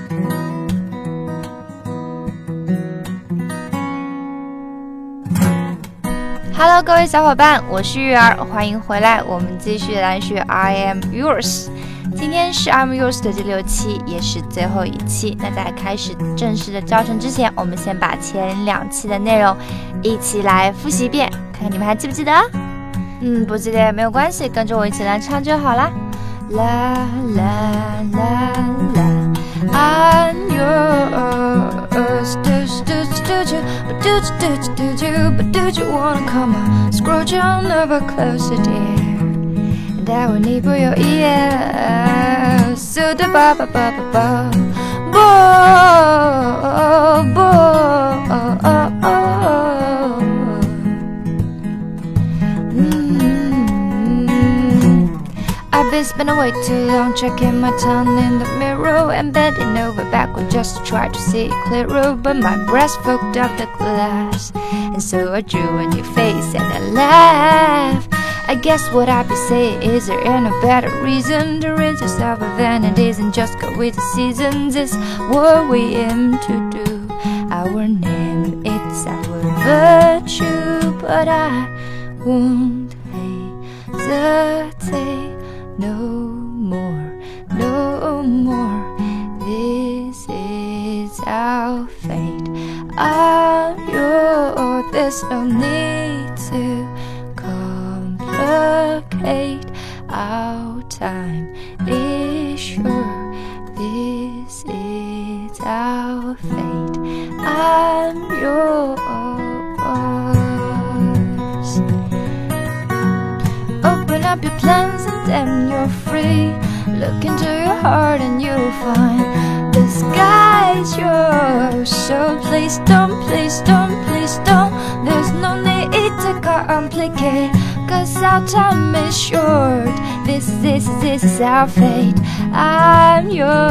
Hello， 各位小伙伴，我是玉儿，欢迎回来，我们继续来学 I am yours。今天是 I am yours 的第6期，也是最后一期。那在开始正式的教程之前，我们先把前2期的内容一起来复习一遍，看看你们还记不记得？不记得也没有关系，跟着我一起来唱就好啦。啦啦啦啦 I'm yours, do you wanna come on? Scrooge on over closer, dear. And I will need for your ears. So da ba ba ba ba ba. Bo bo. I've been spending way too long checking my tongue in the mirror and bending over backward just to try to see it clearer. But my breast fogged up the glass, and so I drew a new face and I laughed. I guess what I'd be saying is there ain't no better reason to rid yourself of vanities and just go with the seasons. It's what we aim to do. Our name, it's our virtue, but I won't hesitate. No more, no more. This is our fate. I'm yours. There's no need to complicate. Our time is sure. This is our fate. I'm yours. Open up your plans and then you're free. Look into your heart and you'll find the sky's yours. So please don't, please don't, please don't. There's no need to complicate, 'cause our time is short. This is our fate. I'm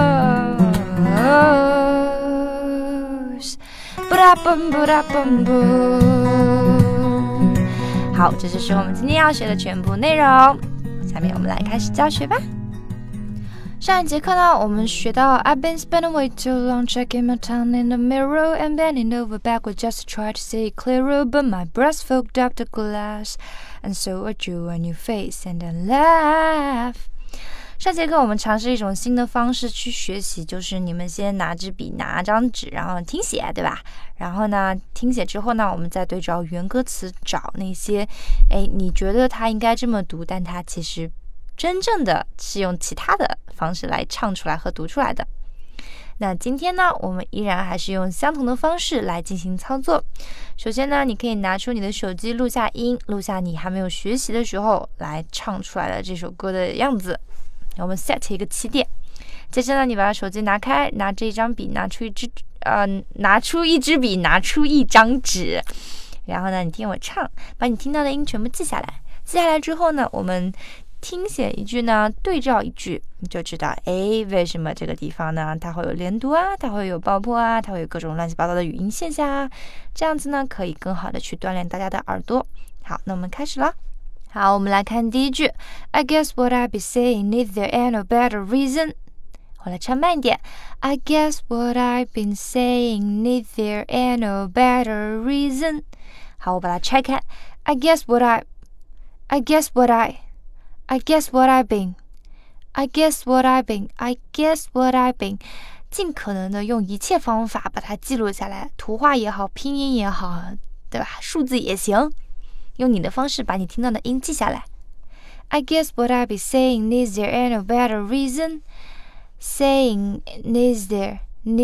yours. Ba-da-bum, ba-da-bum, boom. 好，这就是我们今天要学的全部内容。下面我们来开始教学吧。上一节课呢，我们学到 I've been spending way too long checking my tongue in the mirror and bending over backward just to try to see it clearer, but my breast fogged up the glass, and so I drew a new face and I laughed. 上节课我们尝试一种新的方式去学习，就是你们先拿支笔拿张纸，然后听写，对吧？然后呢，听写之后呢，我们再对照原歌词找那些你觉得它应该这么读，但它其实真正的是用其他的方式来唱出来和读出来的。那今天呢，我们依然还是用相同的方式来进行操作。首先呢，你可以拿出你的手机录下音，录下你还没有学习的时候来唱出来的这首歌的样子。我们 set 一个起点，接着呢，你把手机拿开，拿着一张笔，拿出一支笔，拿出一张纸，然后呢，你听我唱，把你听到的音全部记下来。记下来之后呢，我们听写一句呢，对照一句，你就知道，为什么这个地方呢，它会有连读啊，它会有爆破啊，它会有各种乱七八糟的语音现象啊，这样子呢，可以更好的去锻炼大家的耳朵。好，那我们开始了。好，我们来看第一句 I guess what I'd be saying if there ain't no better reason. 我来唱慢一点 I guess what I've been saying if there ain't no better reason. 好，我把它拆开 I guess what I've been 尽可能的用一切方法把它记录下来，图画也好，拼音也好，对吧？数字也行，用你的方式把你听到的音记下来。I guess what I'd be saying is there ain't no better reason. Saying is there,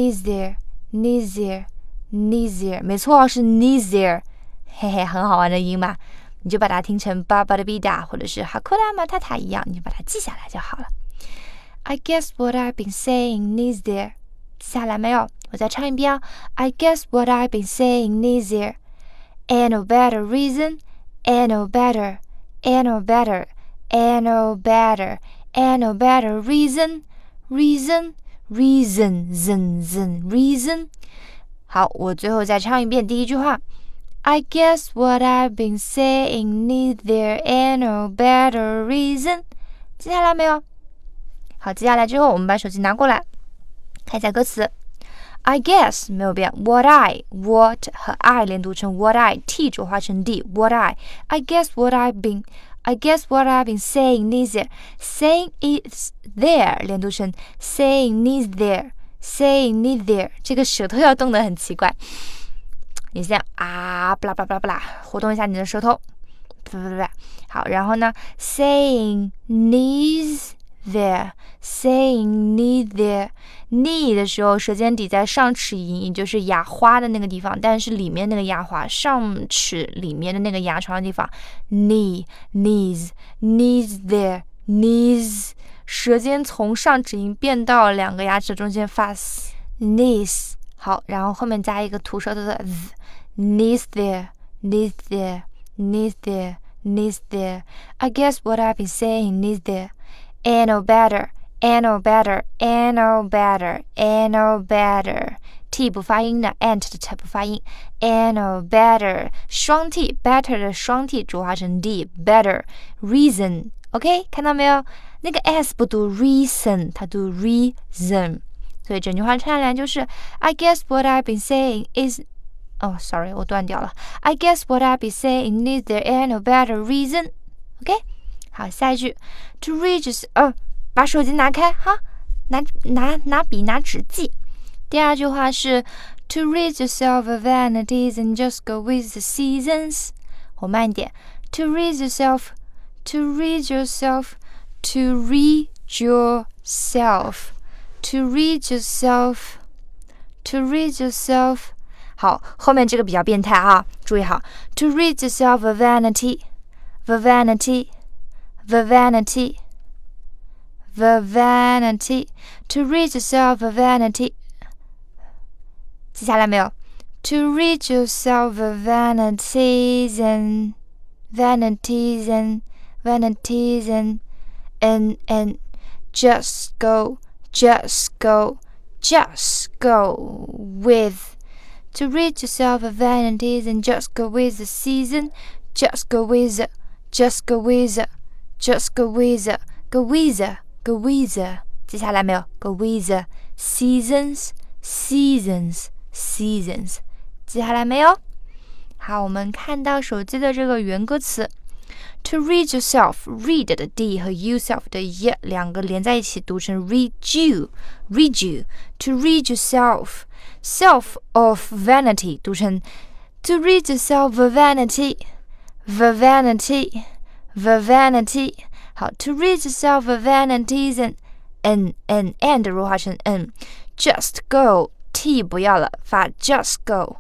没错，是 neither， 嘿嘿，很好玩的音嘛，你就把它听成巴巴的比达或者是哈库拉马塔塔一样，你就把它记下来就好了。I guess what I've been saying is there， 记下来没有？我再唱一遍哦。I guess what I've been saying is there ain't no better reason, ain't no better reason. Reason. 好，我最后再唱一遍第一句话。I guess what I've been saying is there ain't no better reason. 记下来没有？好，接下来之后我们把手机拿过来， 看一下歌词 I guess 没有变 what 和 I 连读成 what I T 浊化成 D what I guess what I've been saying is there saying is there 连读成 saying is there 这个舌头要动得很奇怪，你这样啊不啦不啦不啦不啦，活动一下你的舌头，不，好，然后呢 saying is there knee 的时候舌尖抵在上齿龈，也就是牙花的那个地方，但是里面那个牙花上齿里面的那个牙床的地方 knees there knees 舌尖从上齿龈变到两个牙齿中间发 knees 好，然后后面加一个吐舌头的 knees there I guess what I've been saying is there ain't no better T 不发音的 ant 的 t 不发音 ain't no better 双 T better 的双 T 浊化成 D better reason OK 看到没有，那个 S 不读 reason 它读 reason， 所以整句话串联就是 I guess what I've been saying is sorry 我断掉了 I guess what I've been saying is there ain't no better reason OK 好，下一句 to reach 把手机拿开哈，拿笔拿纸记。第二句话是 to rid yourself of vanities and just go with the seasons 我慢一点 to rid yourself好，后面这个比较变态啊，注意好 to rid yourself of vanity to rid yourself of vanity 记下来没有 to rid yourself of vanities and just go with to rid yourself of vanities and just go with the season just go with记下来没有 go with the seasons 记下来没有？好，我们看到手机的这个原歌词 to read yourself read 的 D 和 yourself 的 Y 两个连在一起读成 read you to read yourself self of vanity 读成 to read yourself of vanity 好 to read yourself of vanities and 弱化成 n just go T 不要了发 just go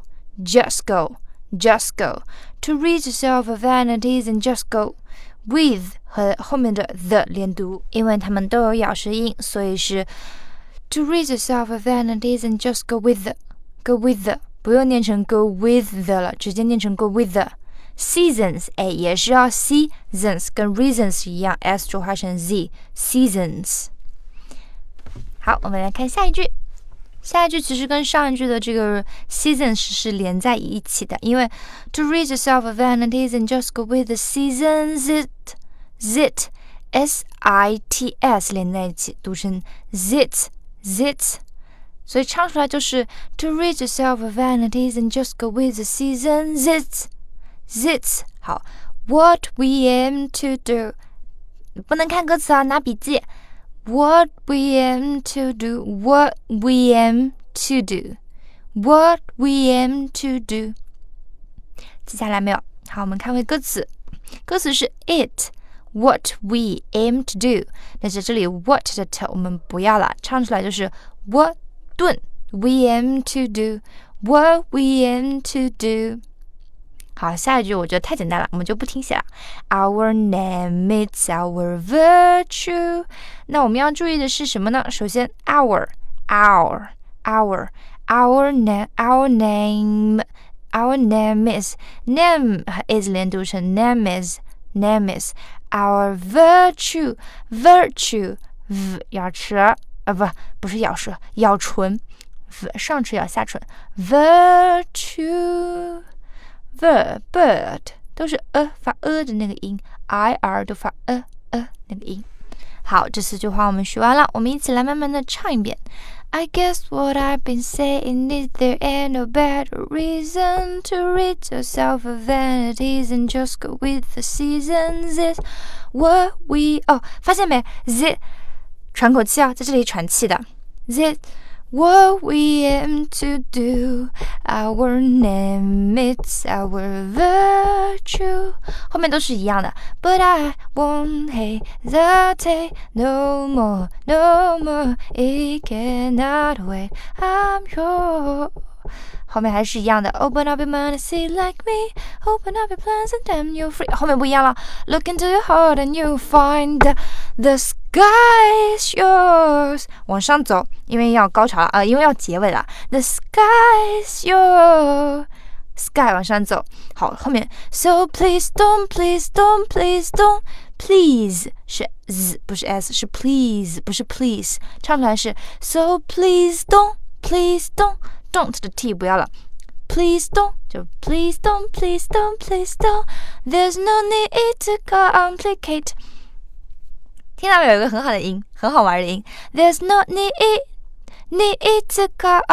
to rid yourself of vanities and just go with 和后面的 the 连读，因为它们都有咬舌音，所以是 to rid yourself of vanities and just go with the 不用念成 go with the 了，直接念成 go with the seasons 也是要 seasons 跟 reasons 一样 S 浊化成 Z seasons。 好，我们来看下一句，下一句其实跟上一句的这个 seasons 是连在一起的，因为 to rid yourself of vanities and just go with the seasons zit S-I-T-S 连在一起读成 zit， 所以唱出来就是 to rid yourself of vanities and just go with the seasons zit。 好 what we aim to do 不能看歌词啊，拿笔记What we aim to do, what we aim to do, what we aim to do 记下来没有？好，我们看回歌词，歌词是 it what we aim to do， 但是这里 what 的 t 我们不要了，唱出来就是 what 顿 we aim to do, what we aim to do。好，下一句我觉得太简单了，我们就不听写了。Our name is our virtue。那我们要注意的是什么呢？首先 our name is name is 连读成 name is our virtue v 咬舌不是咬舌，咬唇 v 上齿咬下唇 virtue bird 都是发的那个音 ir 都发那个音。 好，这4句话我们学完了，我们一起来慢慢的唱一遍。I guess what I've been saying is there ain't no better reason to rid yourself of vanities and just go with the seasons is what we... 发现没 ？Z 喘口气啊，在这里喘气的。Z what we aim to do, our name, it's our virtue. 后面都是一样的。But I won't hesitate no more, no more. It cannot wait. I'm yours. 后面还是一样的。Open up your mind and see like me. Open up your plans and then you're free. 后面不一样了。Look into your heart and you'll find the sky is yours. 往上走，因为要高潮了因为要结尾了。The sky is yours. Sky 往上走。好，后面 So please don't, please don't, please don't. Please 是 z 不是 s 是 please 不是 please 唱出来是 So please don't, please don't.Don't 的 t 不要了 Please don't 就 Please don't, please don't, please don't There's no need to complicate 听到没有一个很好的音很好玩的音 There's no need to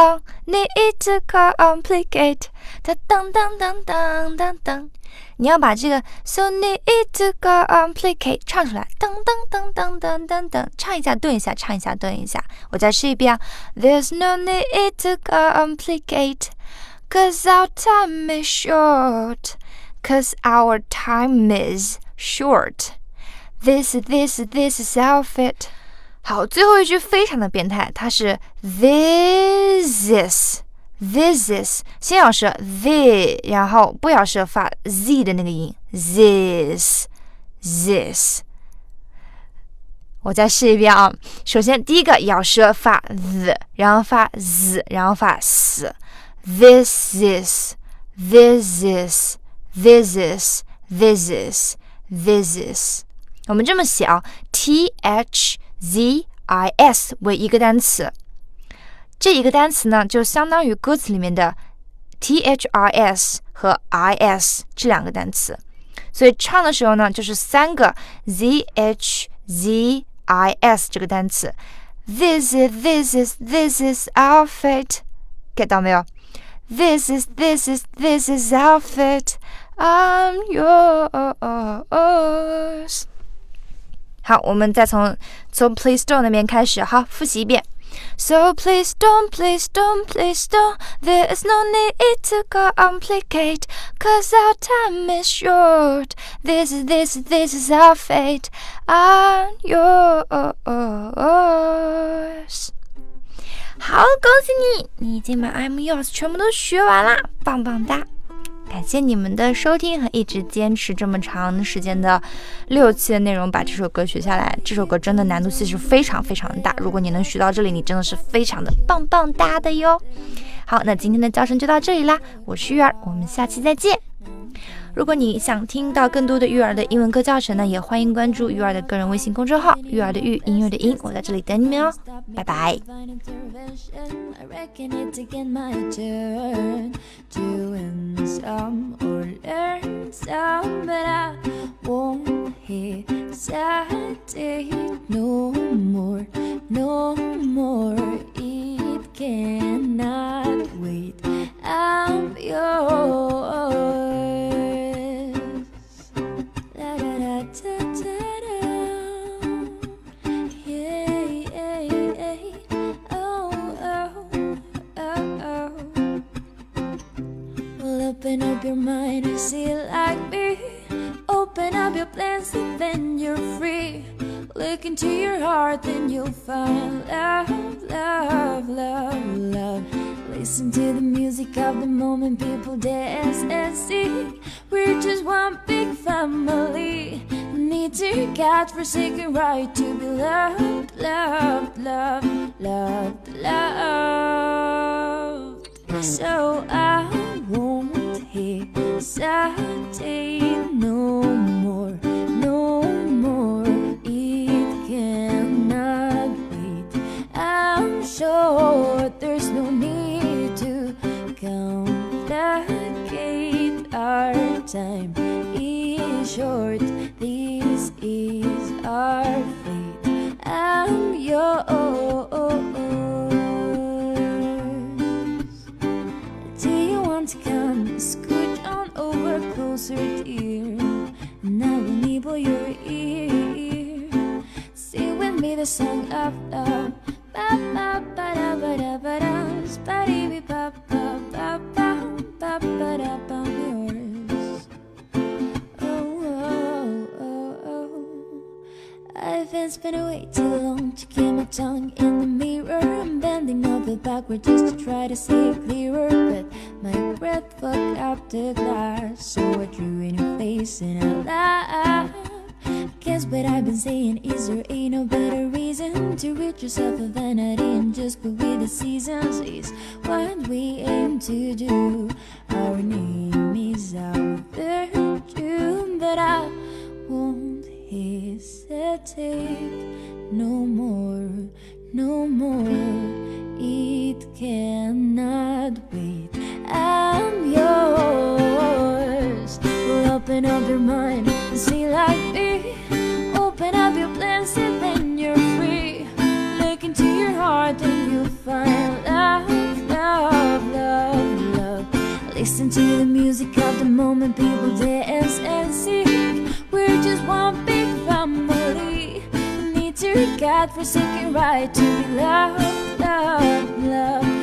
complicate 它当当当当当当你要把这个 So need to complicate 唱出来当当当当当当当唱一下顿一下唱一下顿一下我再试一遍啊 There's no need to complicate Cause our time is short Cause our time is short This is our fate 好最后一句非常的变态它是 This is 先咬舌 the 然后不咬舌发 z 的那个音 this 我再试一遍啊首先第一个咬舌发 the 然后发 z 然后发 s This is我们这么写啊 thzis 为一个单词这一个单词呢就相当于歌词里面的 thrs 和 is 这两个单词所以唱的时候呢就是3个 zhzis 这个单词 This is our fate get 到没有 This is our fate I'm yours 好我们再从 So please don't 那边开始好复习一遍So please don't There is no need to complicate Cause our time is short This is our fate I'm yours 好恭喜你已经把 I'm yours 全部都学完了棒棒哒感谢你们的收听和一直坚持这么长时间的6期的内容把这首歌学下来这首歌真的难度其实非常非常的大如果你能学到这里你真的是非常的棒棒哒的哟好那今天的教程就到这里啦我是玉儿我们下期再见如果你想听到更多的育儿的英文课教程呢也欢迎关注育儿的个人微信公众号育儿的育音乐的音我在这里等你们哦拜拜Some or learn some, but I won't hesitate no more, no more. It cannot wait. I'm yours. Da da da da da da. Yeah, yeah, yeah. Oh, oh, oh, oh. Open up your mind and see it like me Open up your plans and then you're free Look into your heart then you'll find love, love, love, love Listen to the music of the moment people dance and sing We're just one big family Need to catch forsaken right to be loved, loved, loved, loved, loved So I won't hesitate no more, no more It cannot wait I'm sure there's no need to complicate Our time is short This is our fate yours. Do you want to come scooch on over closer, dear? And I will nibble your ear. Sing with me the song of love. Ba ba ba da ba da ba da. Ba dee bee ba ba ba ba ba ba da ba yours. I've been spending way too long to keep my tongue in the mirror. I'm bending over backward just to try to see it clearer, but my breath fucked up the glass, so I drew in your face and I laughed. Guess what I've been saying is there ain't no better reason to rid yourself of vanity and just go with the seasons. Is what we aim to do. Our name is our virtue, but I won't hesitate no more, no more. It cannot wait. I'm yours. Well, open up your mind and see like me. Open up your plans and then you're free. Look into your heart and you'll find love, love, love, love. Listen to the music of the moment, people dance and sing. We're just one big family. We need to God forsaken right to be loved, love, love.